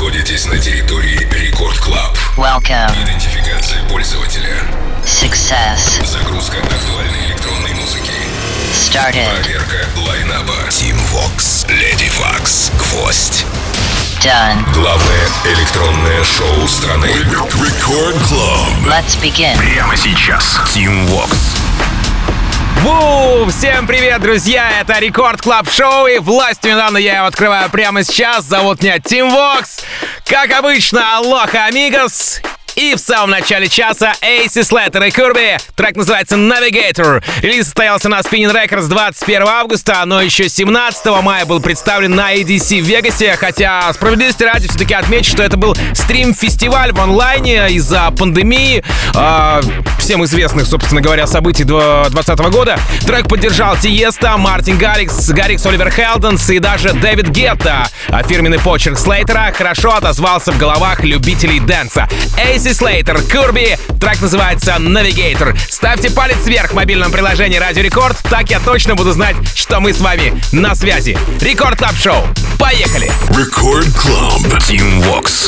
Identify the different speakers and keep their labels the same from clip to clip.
Speaker 1: находитесь на территории Рекорд Клаб.
Speaker 2: Welcome.
Speaker 1: Идентификация пользователя.
Speaker 2: Success.
Speaker 1: Загрузка актуальной электронной музыки.
Speaker 2: Started.
Speaker 1: Проверка лайнаба. Team Vox, Lady Vox, Гвоздь.
Speaker 2: Done.
Speaker 1: Главное электронное шоу страны. Рекорд Club.
Speaker 2: Let's begin.
Speaker 1: Прямо сейчас. Team Vox.
Speaker 3: Всем привет, друзья! Это Рекорд Клаб Шоу, и властью недавно я его открываю прямо сейчас. Зовут меня Team Vox. Как обычно, алоха, амигос. И в самом начале часа AC Slater и Kirby. Трек называется Navigator. Релиз состоялся на Spinning Records 21 августа, но еще 17 мая был представлен на EDC в Вегасе. Хотя, справедливости ради, все-таки отмечу, что это был стрим-фестиваль в онлайне из-за пандемии, всем известных, собственно говоря, событий 2020 года. Трек поддержал Тиеста, Мартин Гаррикс, Оливер Хелденс и даже Дэвид Гетта. А фирменный почерк Слейтера хорошо отозвался в головах любителей дэнса. AC Slater, Kirby, трек называется Navigator. Ставьте палец вверх в мобильном приложении Радио Рекорд, так я точно буду знать, что мы с вами на связи. Рекорд Клаб Шоу. Поехали!
Speaker 1: Рекорд Клаб. Team Vox.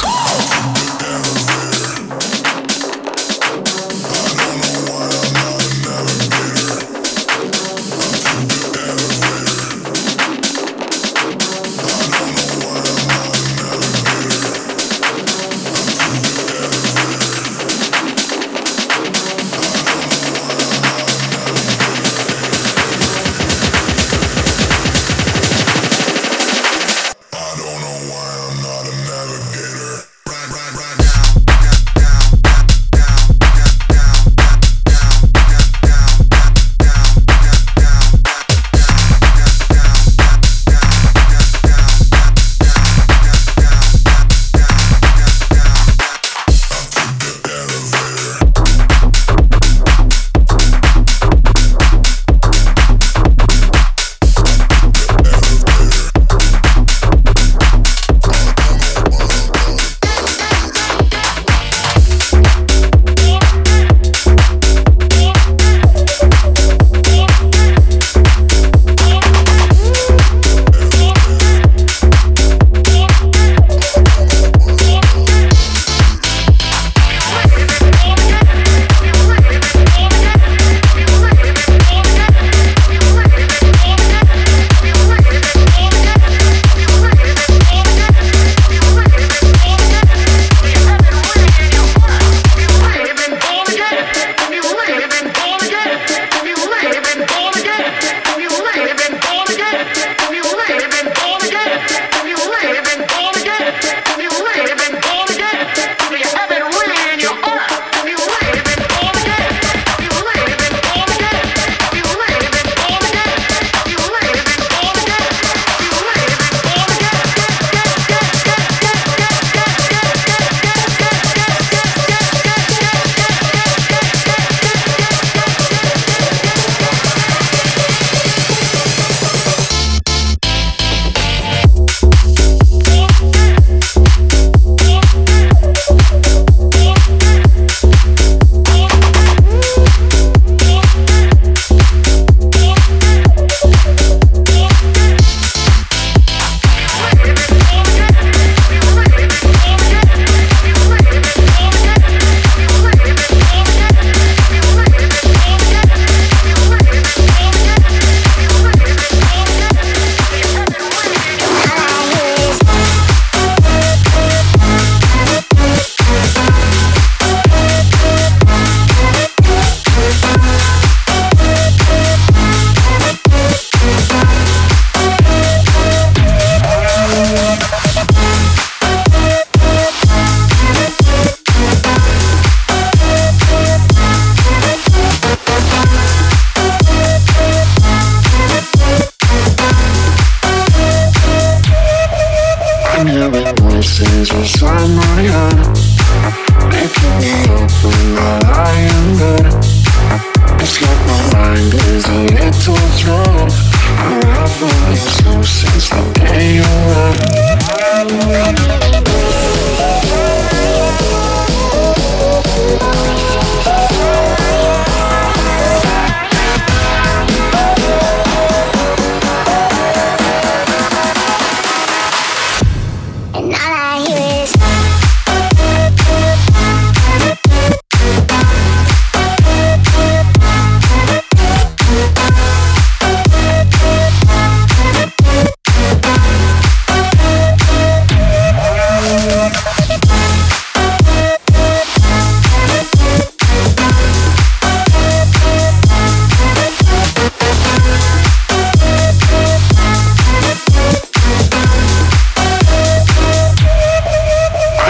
Speaker 4: And all I hear is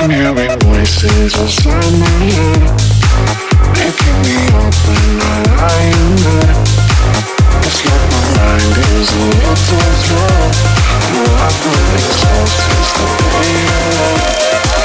Speaker 4: I'm hearing voices inside my head, waking me up when I lie in bed. It's like my mind is a little slow. I've been exhausted since the day I left.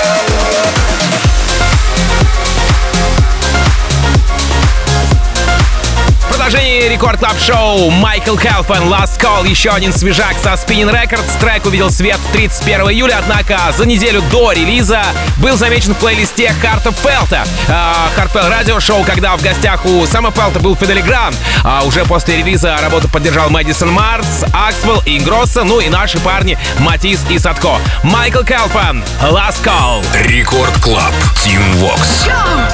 Speaker 3: Продолжение Рекорд Клаб Шоу. Майкл Калфан, Last Call, еще один свежак со Spinning Records. Трек увидел свет 31 июля, однако за неделю до релиза был замечен в плейлисте Харта Фелта. Хартфелт радиошоу, когда в гостях у Сэма Фелта был Фидели Грант. Уже после релиза работу поддержал Мэдисон Марс, Аксвелл, Ингросса, ну и наши парни Матис и Садко. Майкл Калфан, Last Call.
Speaker 1: Рекорд Клаб, Team Vox.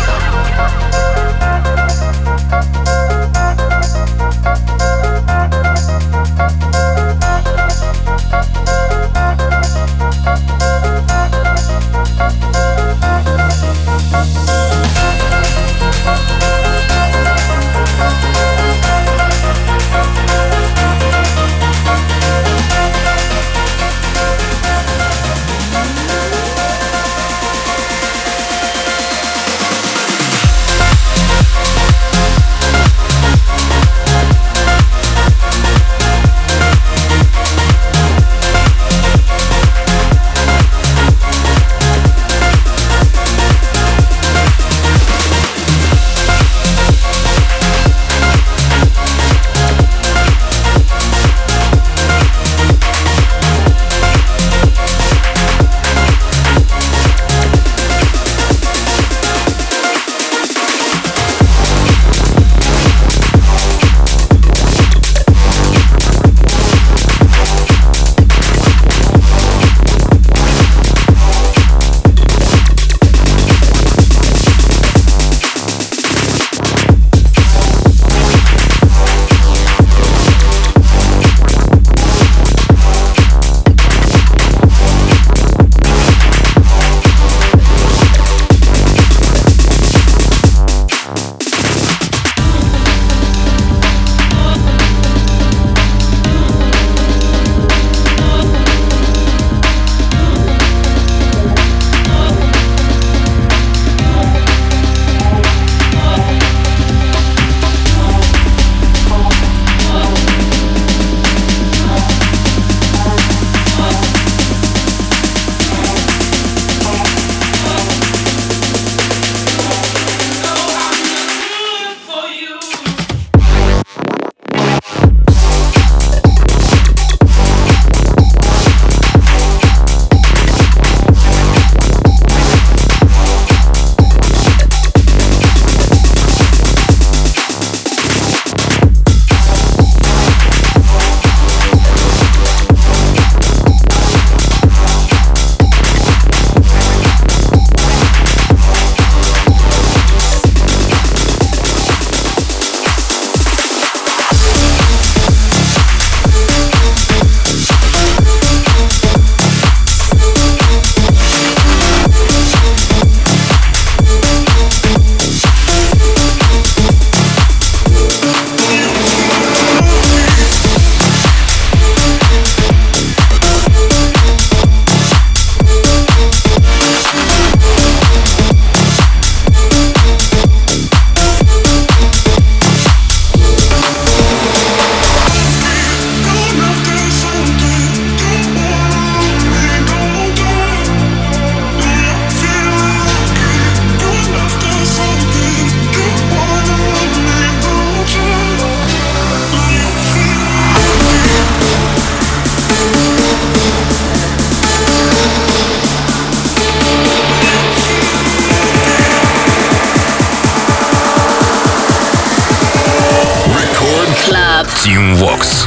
Speaker 1: Team Vox.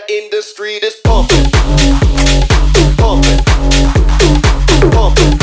Speaker 5: in the street is pumping, pumping, pumping.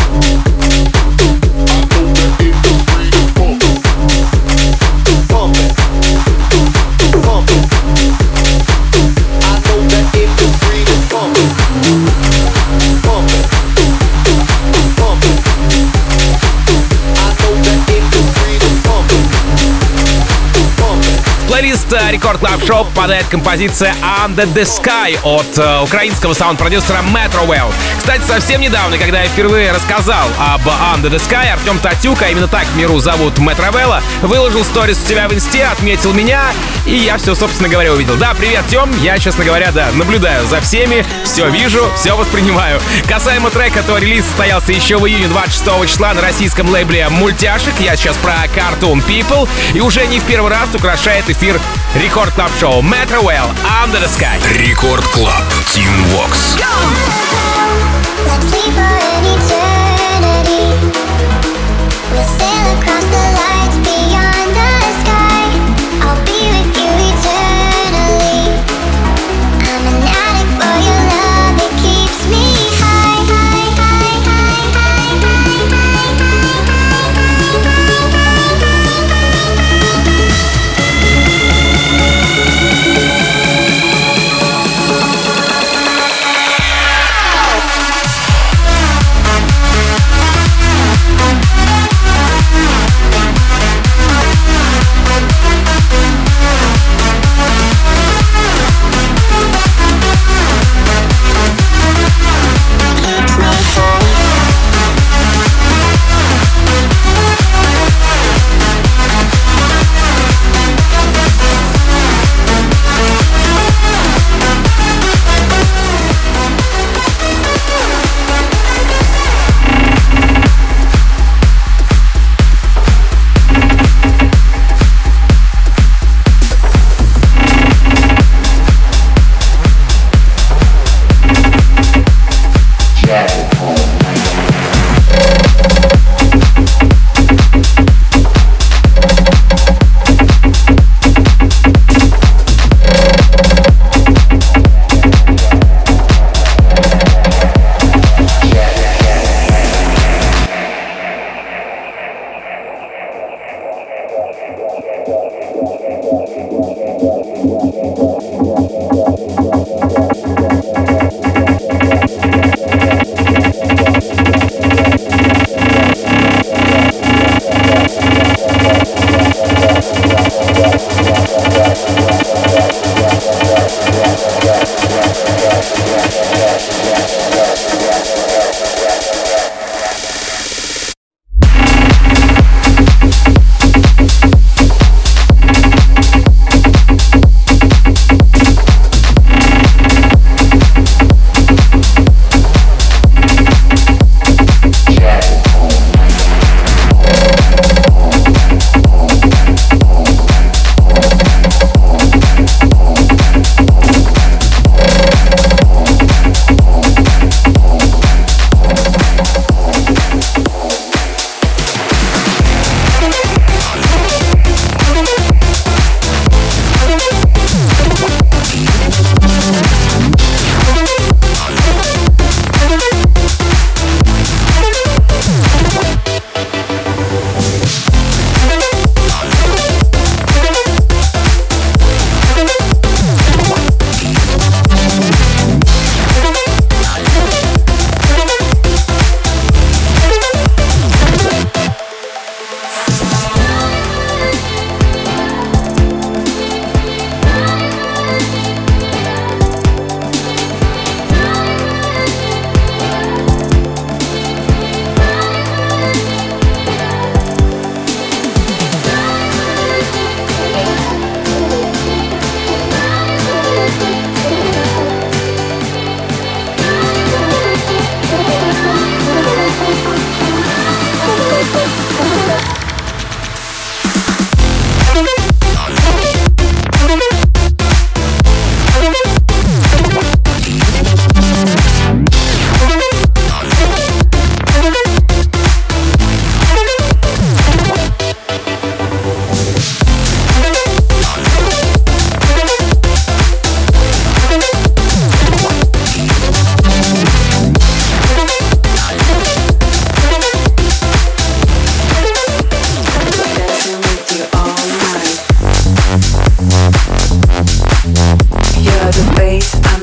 Speaker 3: Плейлист Рекорд Клаб Шоу попадает композиция Under the Sky от украинского саунд-продюсера Metrowell. Кстати, совсем недавно, когда я впервые рассказал об Under the Sky, Артем Татюк, а именно так в миру зовут Metrowell, выложил сторис у тебя в инсте, отметил меня, и я все, собственно говоря, увидел. Да, привет, Тем, я, честно говоря, да, наблюдаю за всеми, все вижу, все воспринимаю. Касаемо трека, то релиз состоялся еще в июне 26 числа на российском лейбле Мультяшек. Я сейчас про Cartoon People, и уже не в первый раз украшает эфир Рекорд Клаб Шоу Metrowell Under the Sky.
Speaker 1: Рекорд Клаб Team Vox.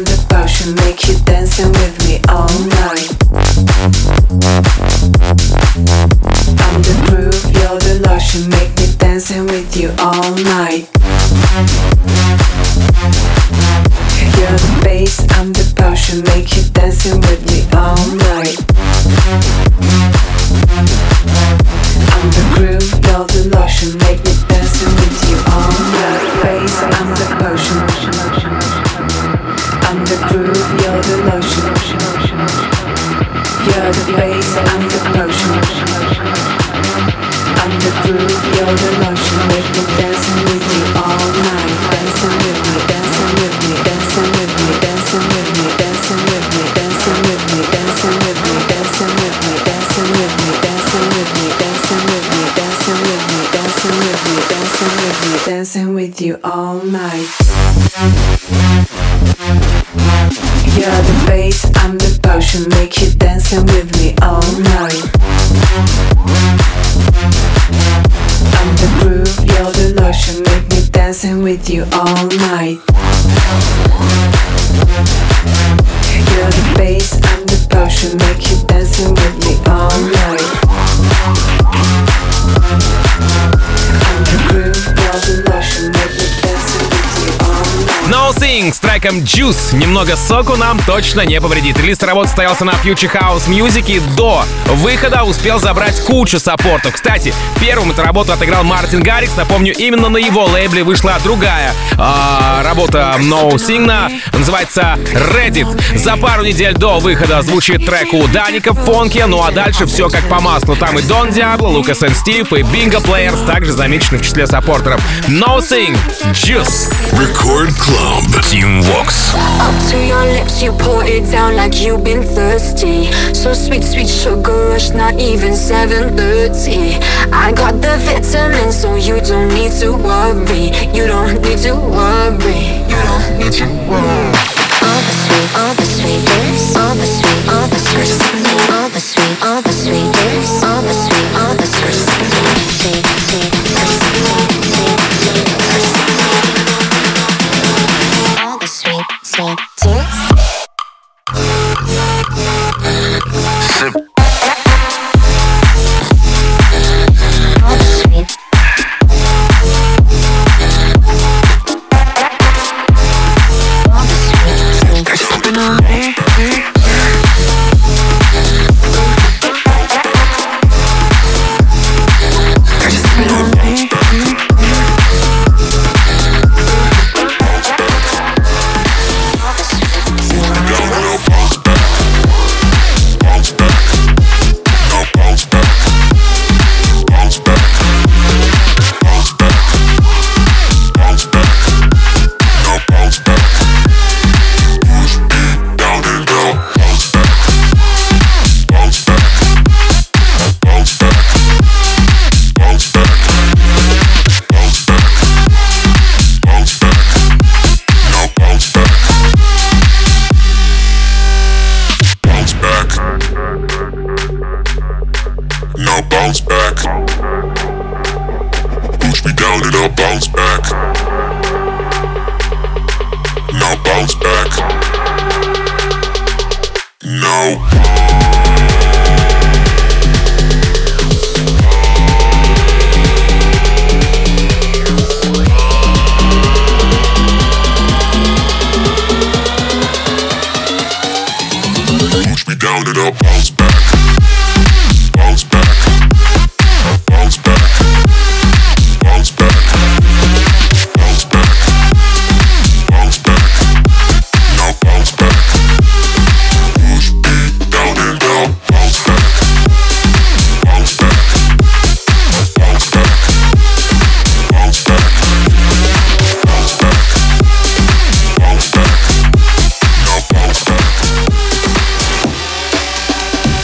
Speaker 6: I'm the potion, make you dancing with me all night. I'm the groove, you're the lotion, make me dancing with you all night. You're the bass, I'm the potion, make you dancing with me all night. I'm the groove, you're the lotion, make me dancing with you all night. Bass, I'm the potion. I'm the groove, you're the lotion. You're the bass, I'm the potion. I'm the groove, you're the lotion, make me dancing with you all night. Dancing with me, dancing with me, dancing with me, dancing with me, dancing with me, dancing with me, dancing with me, dancing with me, dancing with me, dancing with me, dancing with me, dancing with me, dancing with me, dancing with me, dancing with you all night. You're the bass, I'm the potion, make you dancing with me all night. I'm the groove, you're the lotion, make me dancing with you all night. You're the bass, I'm the potion, make you dancing with me all night. I'm the groove, you're the lotion, make me dancing with you all night.
Speaker 3: Nothing с треком Juice. Немного соку нам точно не повредит. Релиз работы состоялся на Future House Music и до выхода успел забрать кучу саппортов. Кстати, первым эту работу отыграл Мартин Гаррикс. Напомню, именно на его лейбле вышла другая работа Nothing, называется Reddit. За пару недель до выхода звучит трек у Даника в фонке, ну а дальше все как по маслу. Там и Don Diablo, Lucas and Steve и Bingo Players, также замечены в числе саппортеров. Nothing, Juice.
Speaker 1: Record Club. Team Vox.
Speaker 7: Up to your lips, you pour it down like you've been thirsty. So sweet, sweet sugar rush, not even 7:30. I got the vitamins, so you don't need to worry. You don't need to worry. You don't need to worry. All the sweet, all the sweet lips, all the sweet, all the sweet, all the sweet, all the sweet lips, all the sweet, all the sweet, sweet, sweet, all the sweet, sweet tips.
Speaker 1: Sip.
Speaker 7: All the sweet. All the sweet, sweet. Sipping on me. Sipping on me. All the sweet, sweet.
Speaker 1: Now bounce back. Push me down and I'll bounce back. Now bounce back. No. Push me down and I'll bounce back. Bounce back. Bounce back. Bounce back. Bounce back. Bounce back. Now bounce back. Push me down and I'll bounce back. Bounce back. Bounce back. Bounce back. Bounce back. Bounce back. Now bounce back.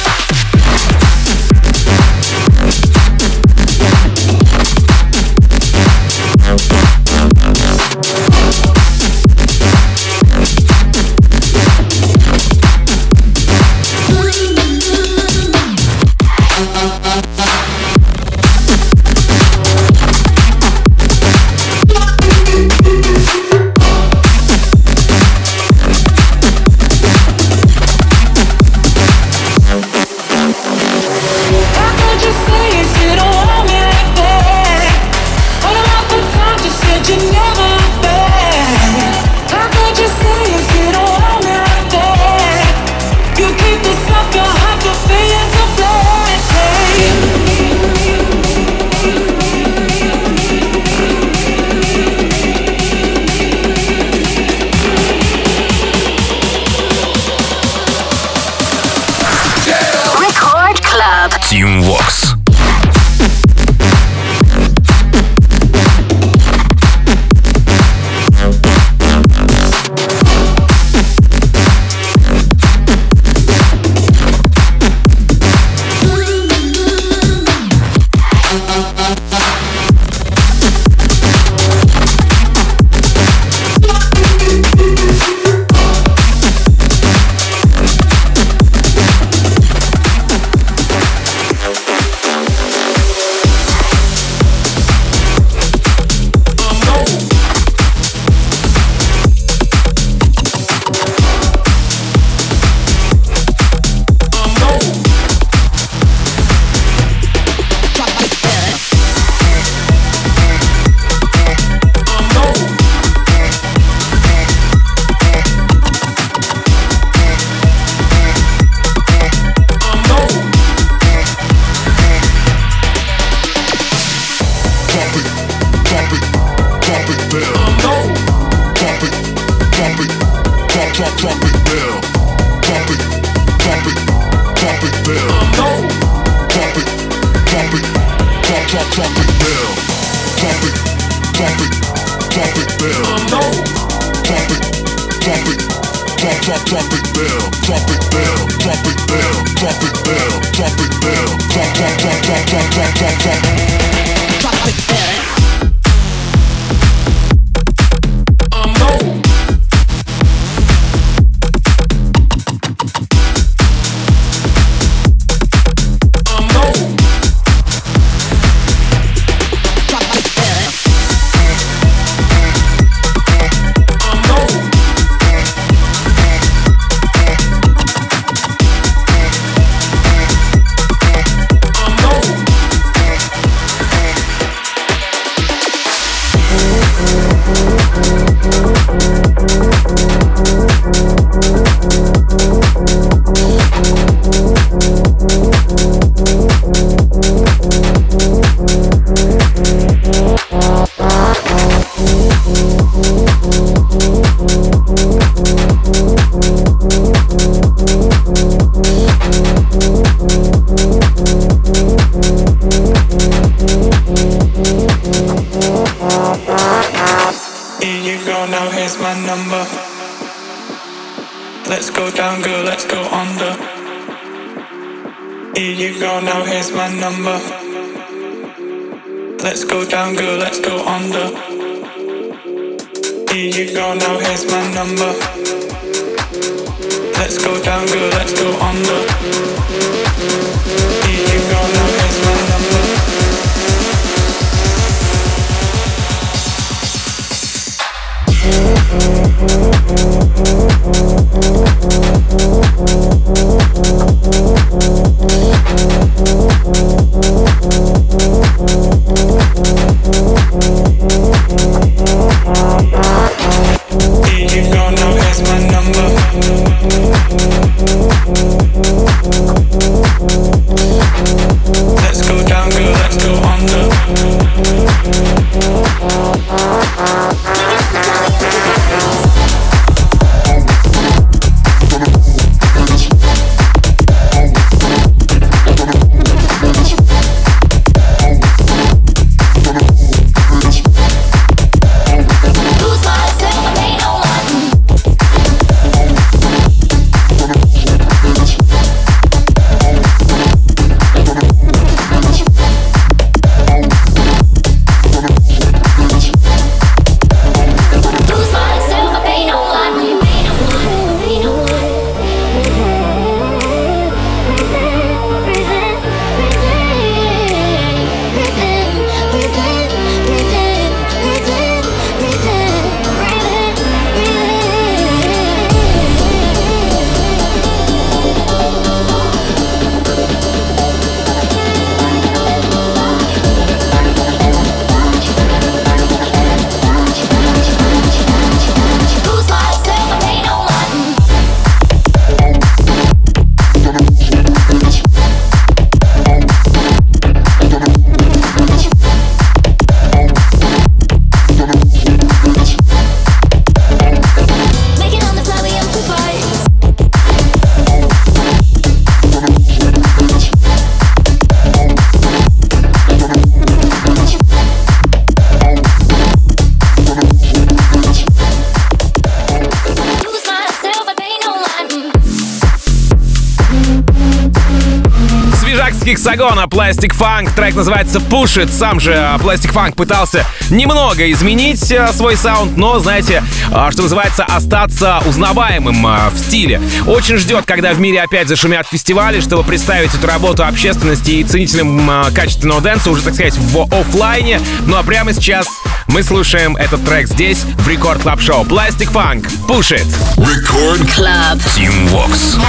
Speaker 3: Гексагона Plastic Funk, трек называется Push It. Сам же Plastic Funk пытался немного изменить свой саунд, но, знаете, что называется, остаться узнаваемым в стиле. Очень ждет, когда в мире опять зашумят фестивали, чтобы представить эту работу общественности и ценителям качественного дэнса уже, так сказать, в офлайне. Ну а прямо сейчас мы слушаем этот трек здесь, в Рекорд Клаб Шоу. Plastic Funk, Push It.
Speaker 1: Record Club Team Vox.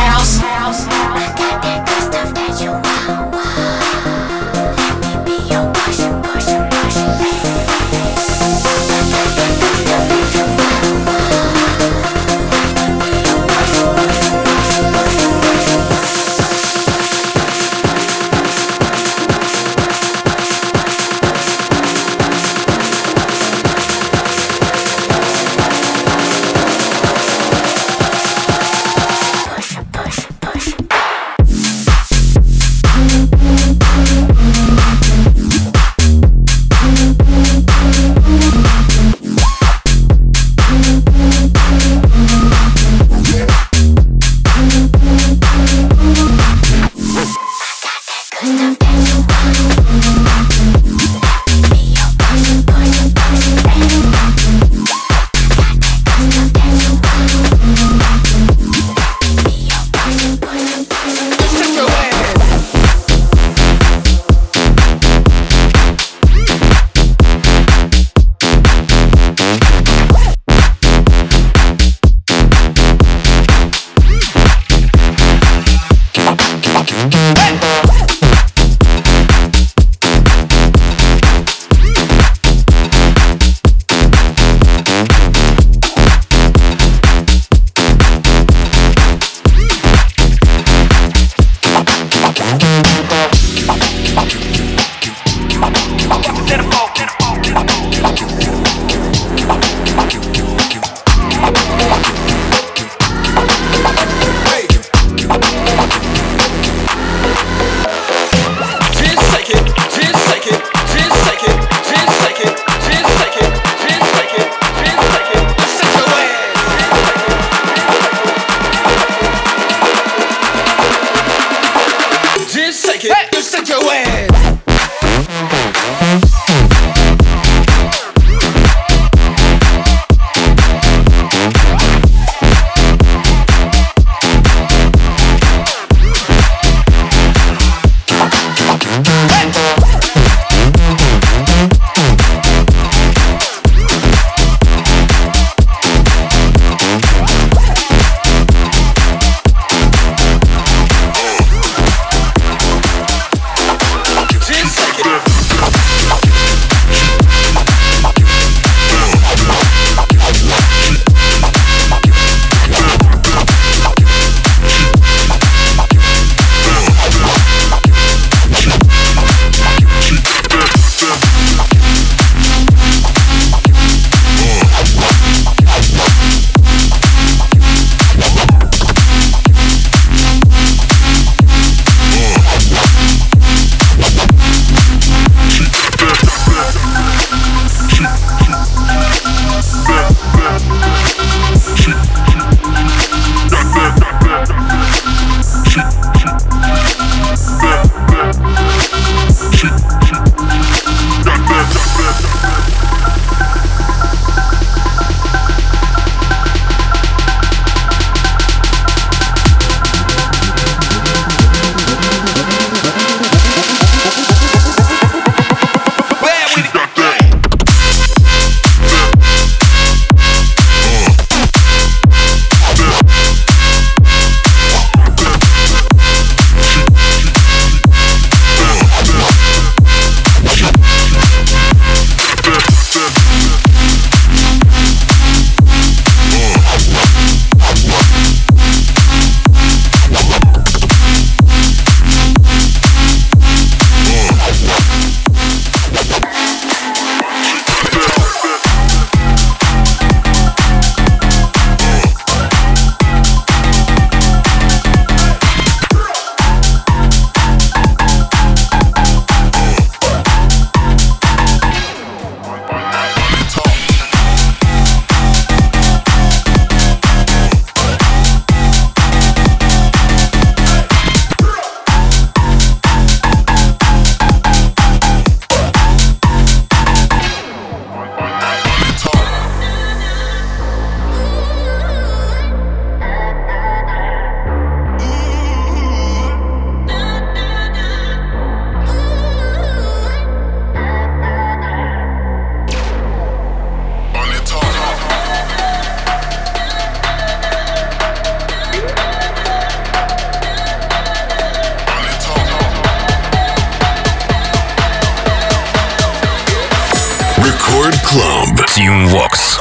Speaker 1: Club Team Vox.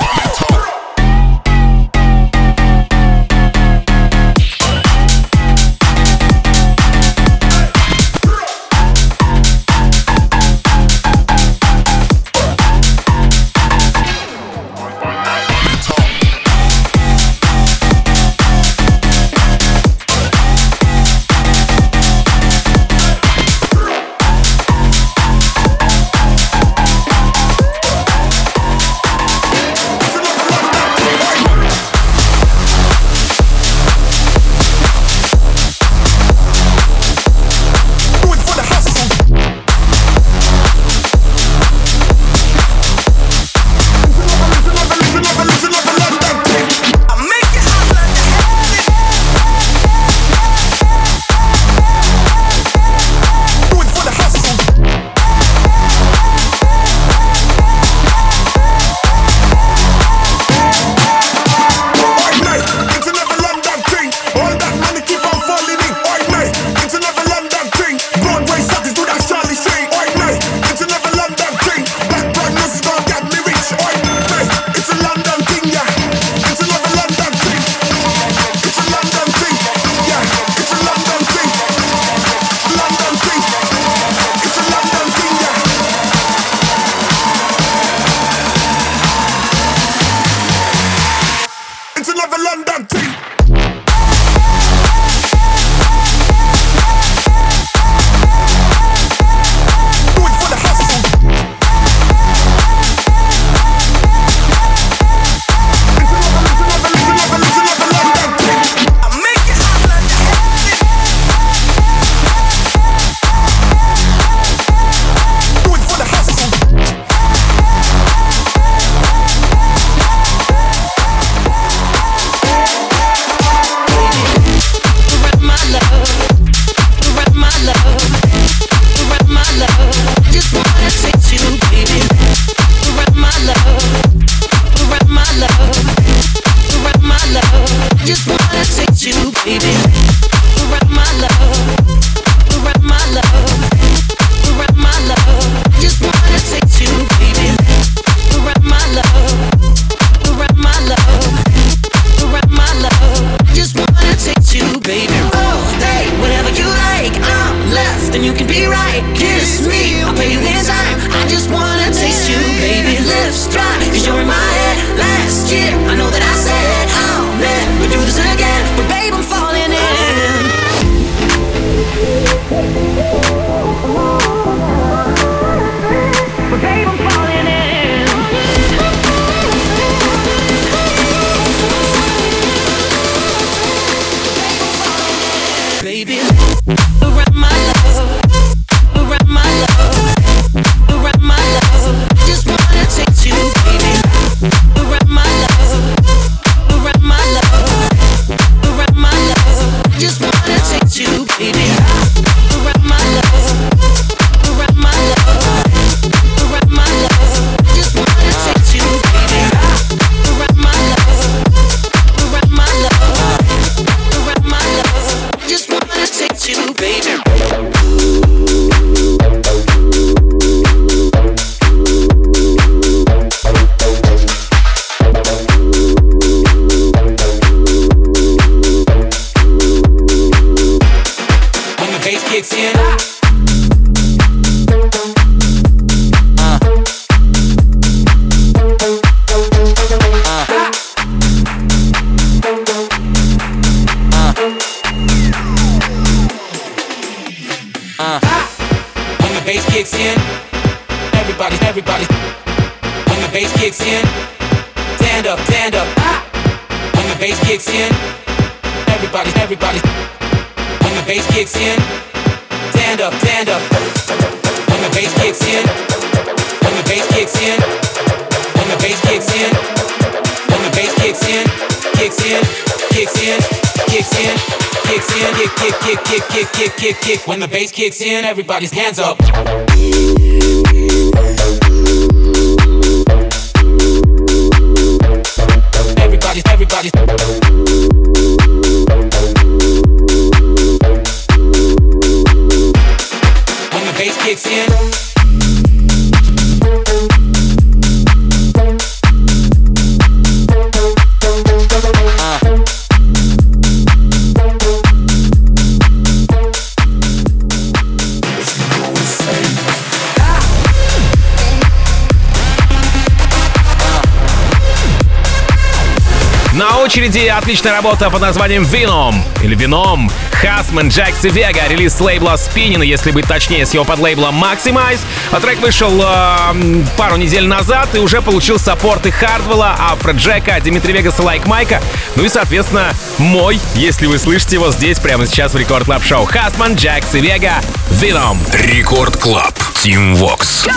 Speaker 8: When the bass kicks in, everybody's hands up. Everybody. When the bass kicks in.
Speaker 3: очереди отличная работа под названием Venom или Venom. Хасман, Джакс и Вега. Релиз с лейбла Spinnin, если быть точнее, с его подлейблом Maximize. Трек вышел пару недель назад и уже получил саппорты Хардвелла, Афроджека, Димитри Вегаса, Лайк Майка. Ну и, соответственно, мой, если вы слышите его здесь прямо сейчас в Рекорд Клаб Шоу. Хасман, Джакс и Вега. Venom.
Speaker 1: Рекорд Клаб. Team Vox.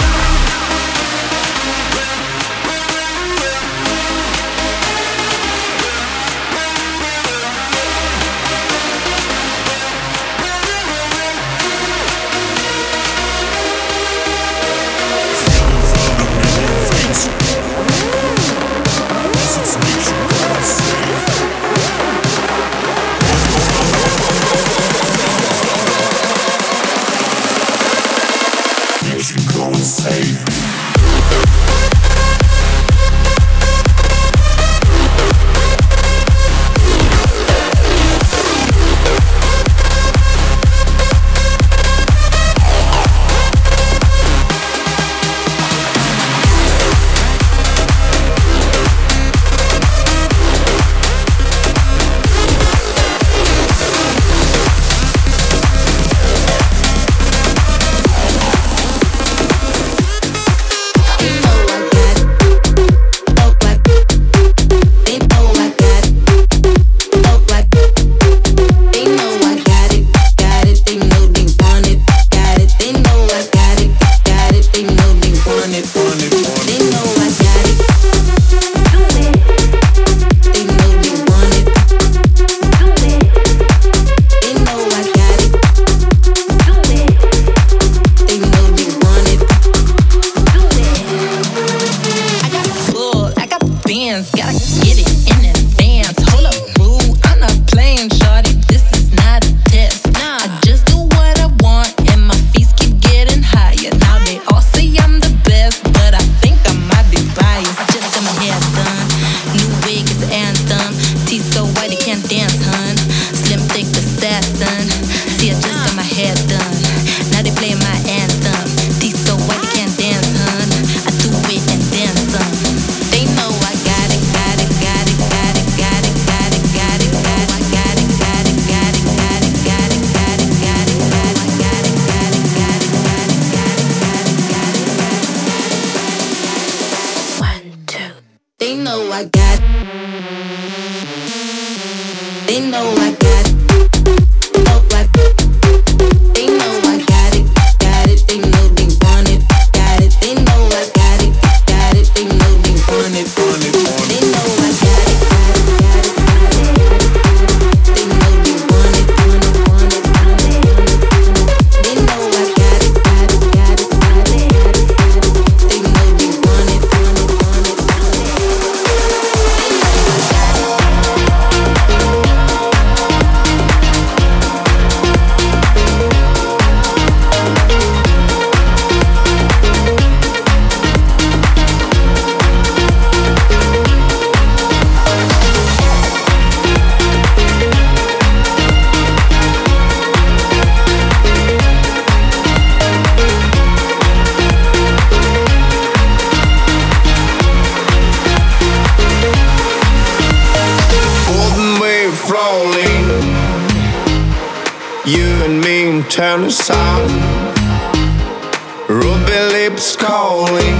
Speaker 9: Turn the sound, ruby lips calling.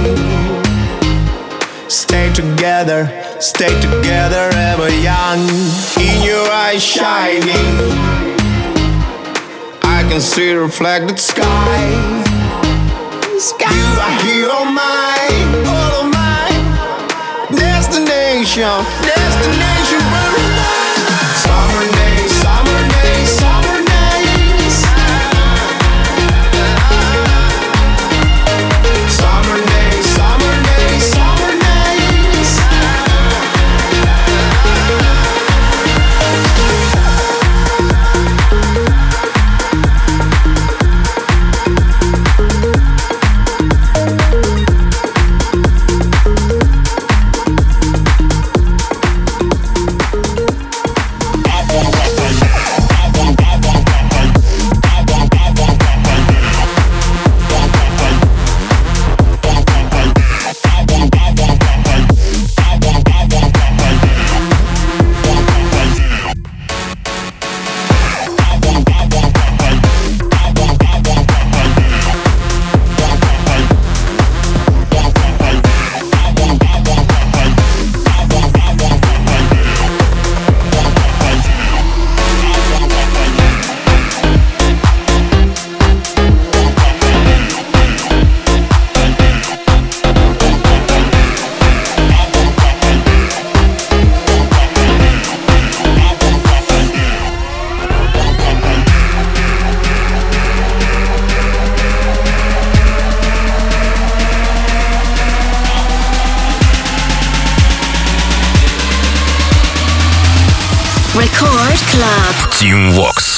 Speaker 9: Stay together ever young. In your eyes shining, I can see reflected sky. You are here on mine, all of mine. Destination, summer days, summer days, summer days.
Speaker 10: Record Club.
Speaker 1: Team Vox.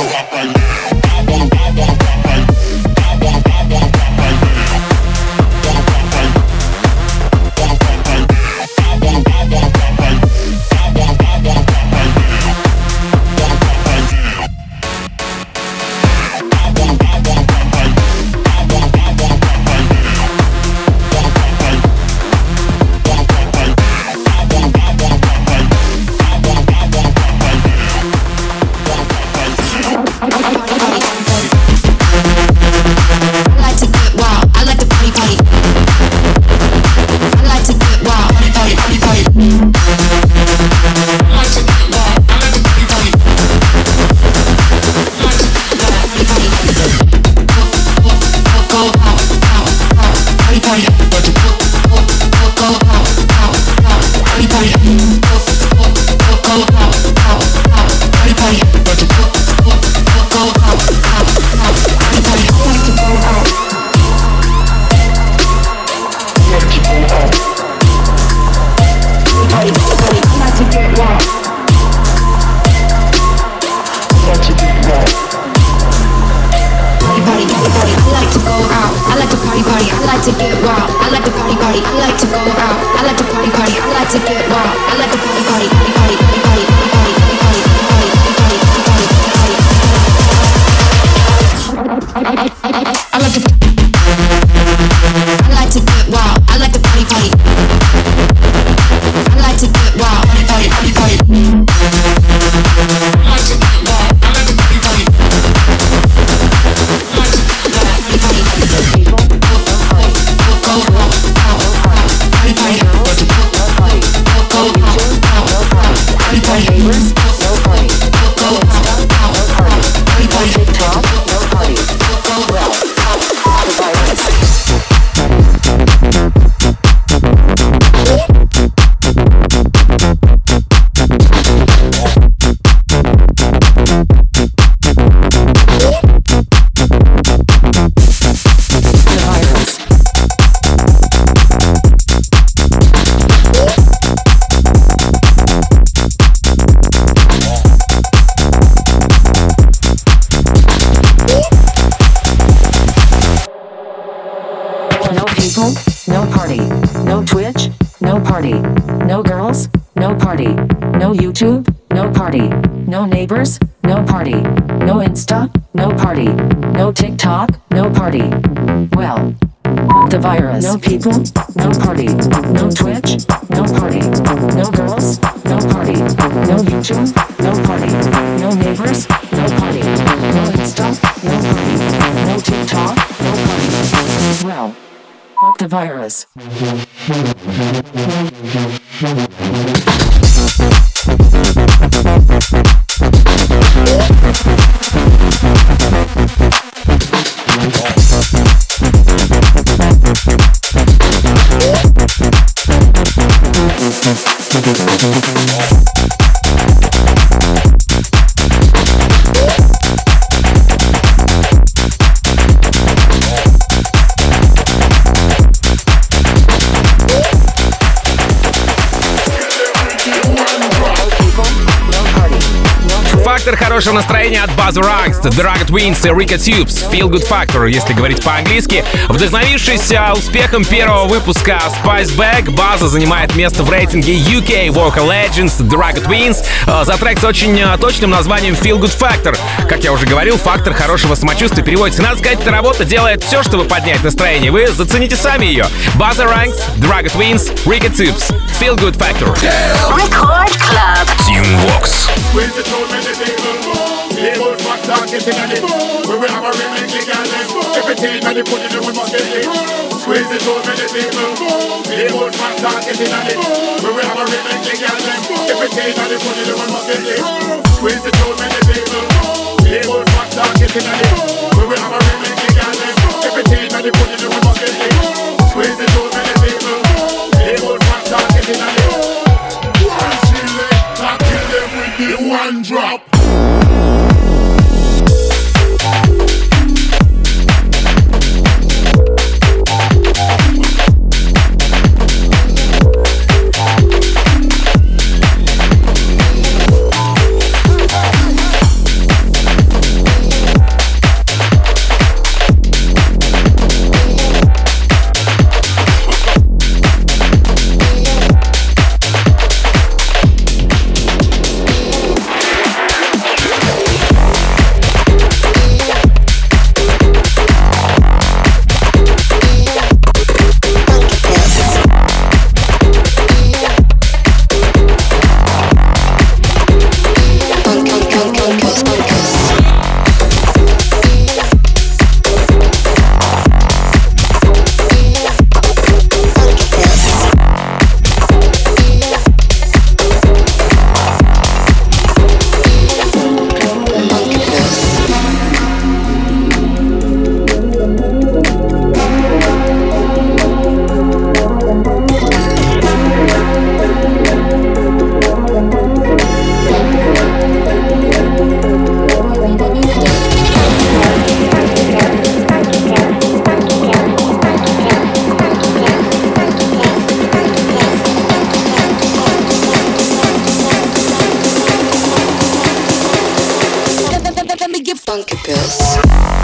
Speaker 11: Virus.
Speaker 3: Хорошего настроения от Buzz Ranks, The Rugged Twins и Rika Tubes, Feel Good Factor, если говорить по-английски. Вдохновившись успехом первого выпуска Spice Bag, Buzz занимает место в рейтинге UK Vocal Legends The Rugged Twins за трек с очень точным названием Feel Good Factor. Как я уже говорил, фактор хорошего самочувствия переводится. Надо сказать, эта работа делает все, чтобы поднять настроение. Вы зацените сами ее. Buzz Ranks, The Rugged Twins, Rika Tubes, Feel Good Factor.
Speaker 10: Record Club.
Speaker 1: Team Vox.
Speaker 9: Label factor getting on it. We will have a remake legally. Everything that they put in we must get it. Squeeze it out many people. Label factor getting on it. We will have a remake legally. Everything that they put in we must get it. Squeeze it out many people. Label factor getting on it. We will have a remake legally. Everything that they put in we must get it. Squeeze it out many people. Label factor getting on it. One select, kill them with the one drop.
Speaker 11: Funky Pills.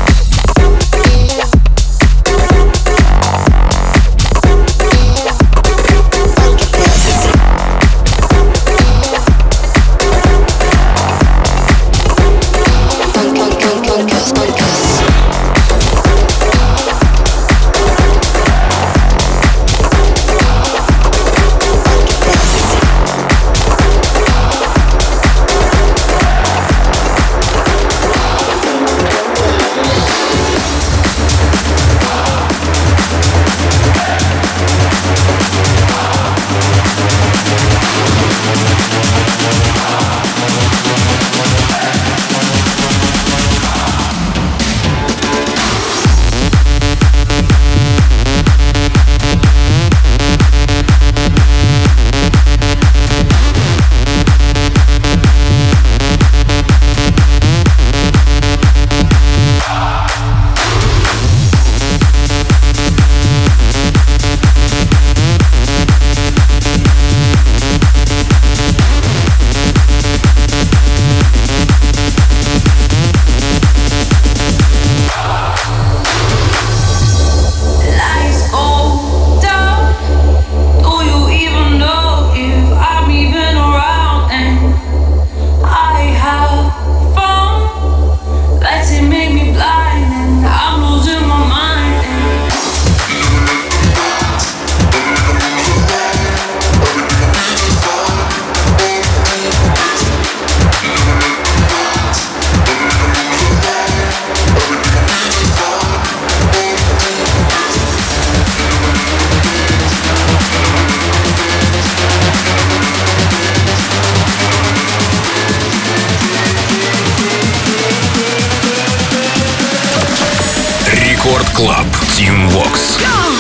Speaker 1: Рекорд Клаб. Team Vox.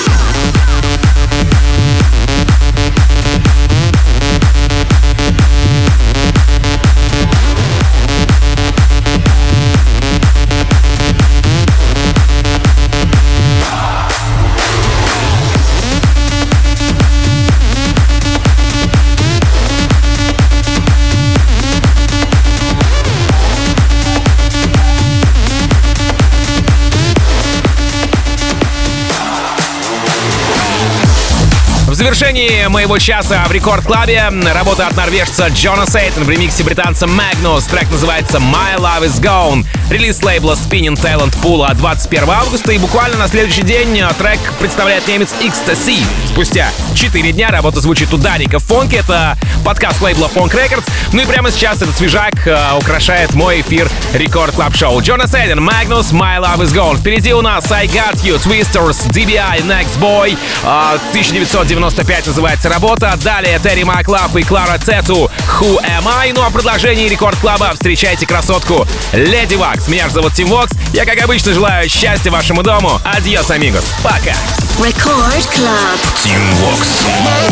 Speaker 3: В завершении моего часа в Рекорд-клабе работа от норвежца Джона Сейтон в ремиксе британца Magnus. Трек называется My Love Is Gone. Релиз лейбла Spinning Talent Pool 21 августа. И буквально на следующий день трек представляет немец Ecstasy. Спустя 4 дня работа звучит ударненько в фонке. Это подкаст лейбла Funk Records. Ну и прямо сейчас этот свежак украшает мой эфир Рекорд Клаб Шоу. Джона Сейтон, Magnus, My Love Is Gone. Впереди у нас I Got You, Twisters, DBI, Next Boy. 1995 называется работа. Далее Терри Маклав и Клара Цету, Who Am I? Ну а в продолжении Рекорд Клаба встречайте красотку Леди Вакс. Меня же зовут Team Vox. Я, как обычно, желаю счастья вашему дому. Адьос, амигос. Пока.
Speaker 10: Record Club.
Speaker 1: Team Vox.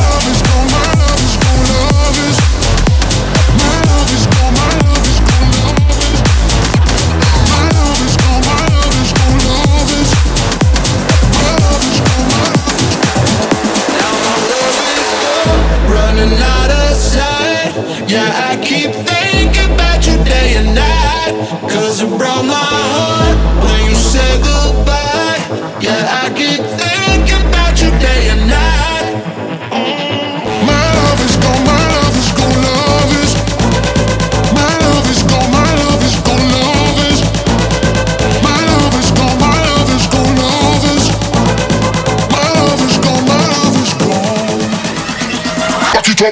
Speaker 12: Yeah, I keep thinking about you day and night, 'cause it broke my heart when you said goodbye. Yeah, I keep thinking about you day and night. My love is gone, my love is gone, love is. My love is gone, my love is gone, love is. My love is gone, my love is gone, love is. My love is gone, my love is gone. Back it up.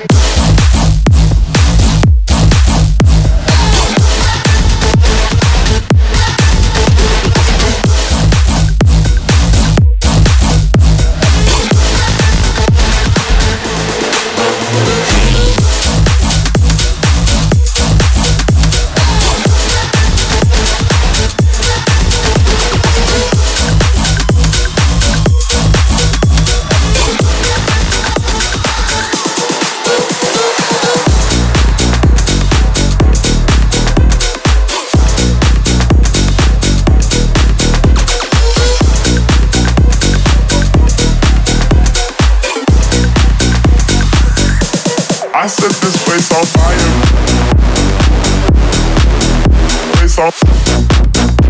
Speaker 9: I set this place on fire. Place on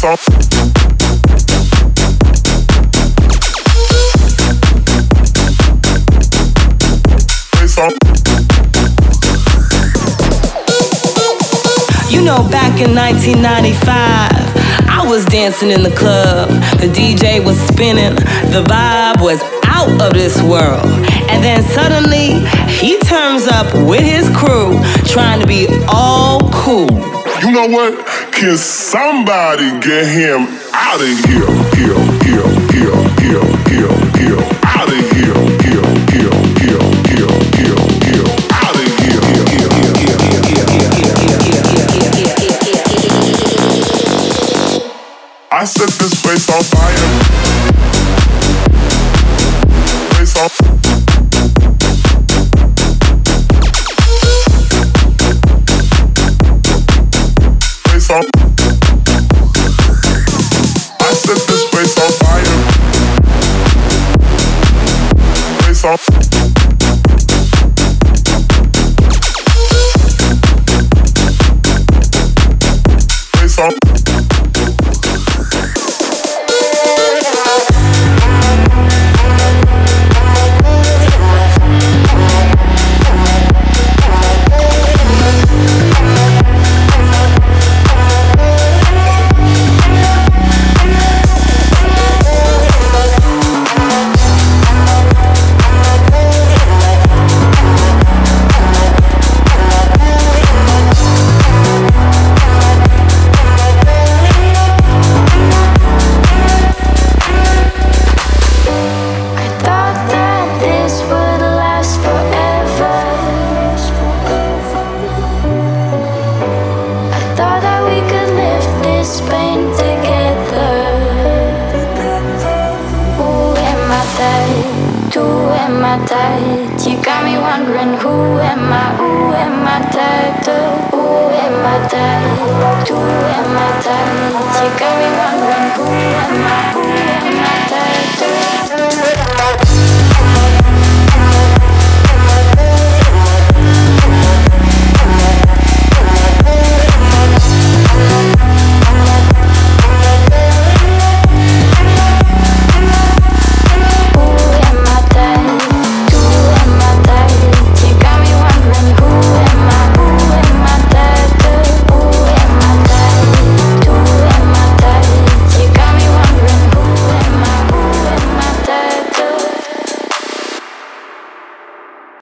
Speaker 11: You know, back in 1995, I was dancing in the club. The DJ was spinning, the vibe was out of this world. And then suddenly, he turns up with his crew, trying to be all cool.
Speaker 9: You know what? Can somebody get him out of here? Out of here, out of here. I set this place on fire. Place on. Place on. I set this place on fire. Place on. Place on.
Speaker 7: You got me wondering who am I type to? Who am I type? Who am I type? You got me wondering who am I